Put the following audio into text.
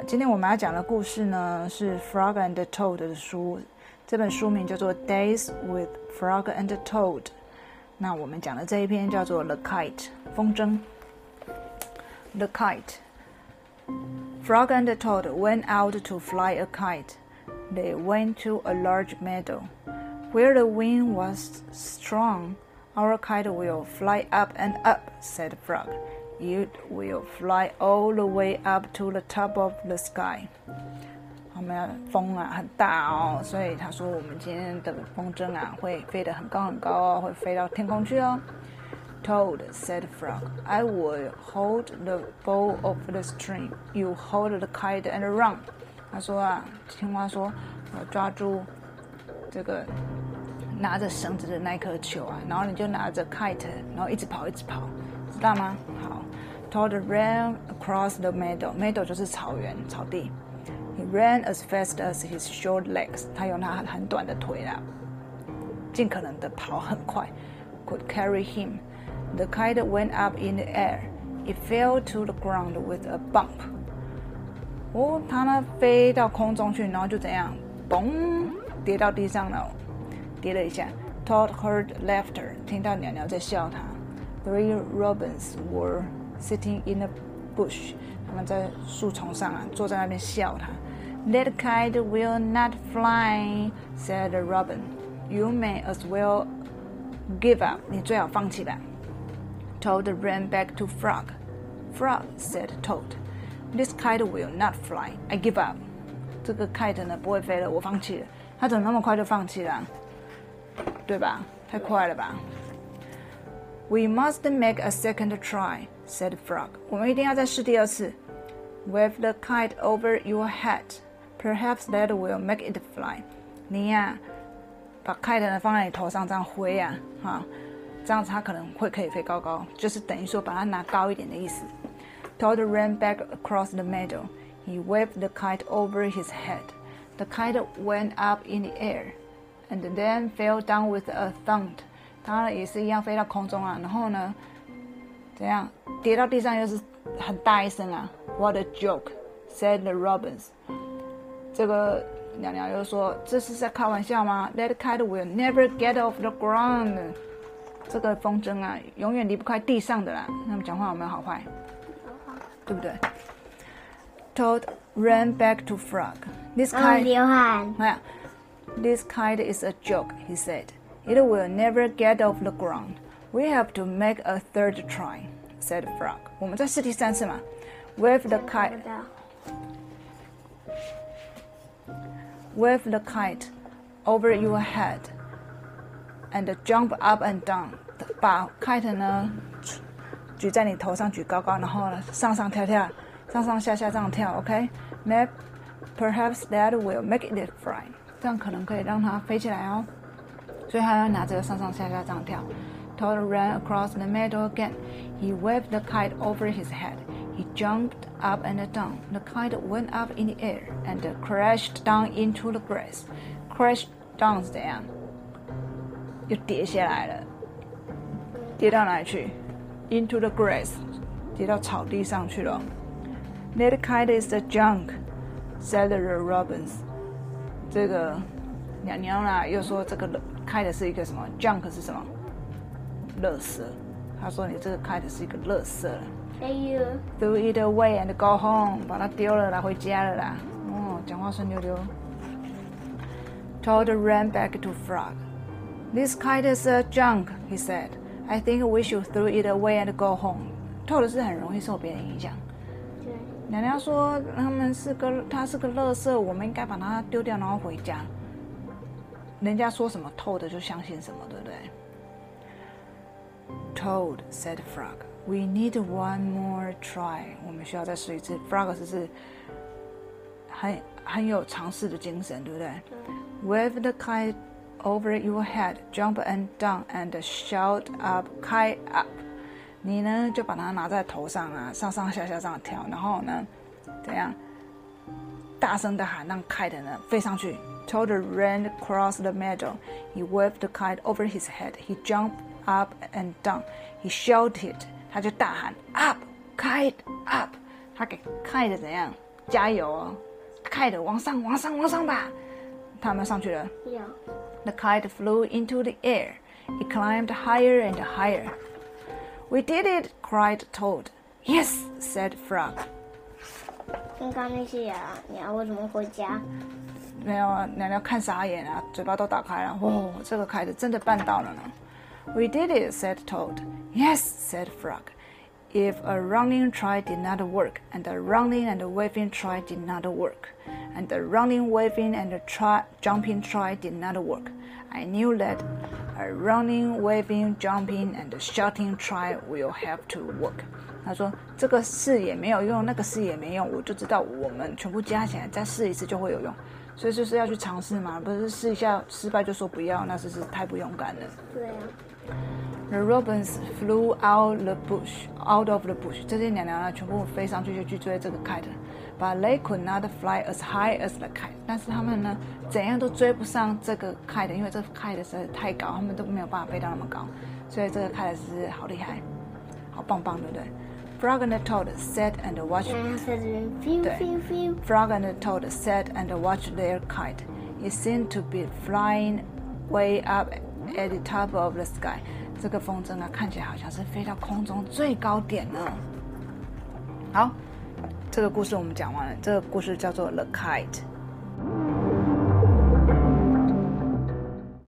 今天我们要讲的故事呢是 Frog and Toad 的书，这本书名叫做 Days with Frog and Toad。那我们讲的这一篇叫做 The Kite 风筝。The Kite Frog and Toad went out to fly a kite. They went to a large meadow. Where the wind was strong, our kite will fly up and up, said Frog. It will fly all the way up to the top of the sky. 我们风啊很大哦，所以他说我们今天的风筝啊会飞得很高很高哦，会飞到天空去哦。Toad, said Frog, I will hold the bow of the string. You hold the kite and run. 他说啊，青蛙说，我抓住这个拿着绳子的那颗球啊，然后你就拿着 kite， 然后一直跑，知道吗？好。Toad ran across the meadow. Meadow 就是草原、草地。He ran as fast as his short legs. 他用他很短的腿啦，尽可能的跑很快。Could carry him. The kite went up in the air. It fell to the ground with a bump. 哦，它呢飞到空中去，然后就怎样，嘣，跌到地上了，跌了一下。Toad heard laughter. 听到鸟鸟在笑他。Three robins were sitting in a bush. 他们在树丛上啊，坐在那边笑他。That kite will not fly, said the robin. You may as well give up. 你最好放弃吧。Toad ran back to Frog. Frog, said Toad. This kite will not fly. I give up. 这个 kite 呢不会飞了，我放弃了。他怎么那么快就放弃了？对吧？太快了吧。We must make a second try, said Frog. 我们一定要再试第二次。Wave the kite over your head. Perhaps that will make it fly. 你呀，把 kite 呢放在你头上这样挥啊，这样子它可能会可以飞高高，就是等于说把它拿高一点的意思。Toad ran back across the meadow. He waved the kite over his head. The kite went up in the air, and then fell down with a thud. 它也是一样飞到空中啊，然后呢，怎样跌到地上又是很大一声啊 ！What a joke! said the robins. 这个鸟鸟又说：“这是在开玩笑吗 ？That kite will never get off the ground. 这个风筝啊，永远离不开地上的啦。”那么讲话有没有好坏？对不对 ？Toad ran back to Frog. This kite, This kite is a joke, he said. It will never get off the ground. We have to make a third try, said Frog. 我们再试第三次嘛。Wave the kite over your head and jump up and down. 把 kite 呢举在你头上，举高高，然后呢上上跳跳，上上下下这样跳 ，OK？ Perhaps that will make it fly. 这样可能可以让它飞起来哦。所以他要拿着上上下下这样跳。Toad ran across the meadow again. He waved the kite over his head. He jumped up and down. The kite went up in the air and crashed down into the grass. Crash down 是怎样？又跌下来了。跌到哪里去 ？Into the grass， 跌到草地上去了。That kite is a junk, said the robins. 这个鸟鸟啦，又说这个kite是一个什么 ？junk 是什么？垃圾。他说你这个 kite是一个垃圾。Throw it away and go home， 把它丢了啦，回家了啦。哦，讲话顺溜溜。Toad ran back to Frog. This kite is a junk, he said. I think we should throw it away and go home. Toad 是很容易受别人影响。鸟鸟说它是个垃圾，我们应该把它丢掉，然后回家。人家说什么 Toad 就相信什么，对不对 ？Toad, said Frog. We need one more try. 我们需要再试一次。Frog 是很有尝试的精神，对不对 ？Wave the kite over your head, jump and down, and shout up, kite up. 你呢就把它拿在头上啊，上上下下这样跳，然后呢，怎样？大声的喊，让 kite 呢飞上去。Toad ran across the meadow. He waved the kite over his head. He jumped up and down. He shouted. 他就大喊 up, kite up. 他给 kite 怎样加油哦 ！kite 往上吧！他们上去了。 Yeah. The kite flew into the air. It climbed higher and higher. We did it! cried Toad. Yes, said Frog. 刚刚那些鸟为什么回家？ 没有啊，鸟鸟看傻眼啊，嘴巴都打开了。哇，这个kite真的办到了呢。We did it, said Toad. Yes, said Frog. If a running try did not work, and a running and a waving try did not work, and the running, waving, and jumping try did not work, I knew that a running, waving, jumping, and shouting try will have to work. 他说这个试也没有用，那个试也没用，我就知道我们全部加起来再试一次就会有用。所以就是要去尝试嘛，不是试一下失败就说不要，那是太不勇敢了。 对啊。 The robins flew out of the bush. 这些鸟鸟呢，全部飞上去就去追这个 kite, but they could not fly as high as the kite. 但是他们呢，怎样都追不上这个 kite， 因为这个 kite 实在是太高，他们都没有办法飞到那么高，所以这个 kite 是好厉害，好棒棒，对不对？Frog and Toad sat and watched. 对 Frog and Toad sat and watched their kite. It seemed to be flying way up at the top of the sky. 这个风筝啊，看起来好像是飞到空中最高点呢。好，这个故事我们讲完了。这个故事叫做《The Kite》。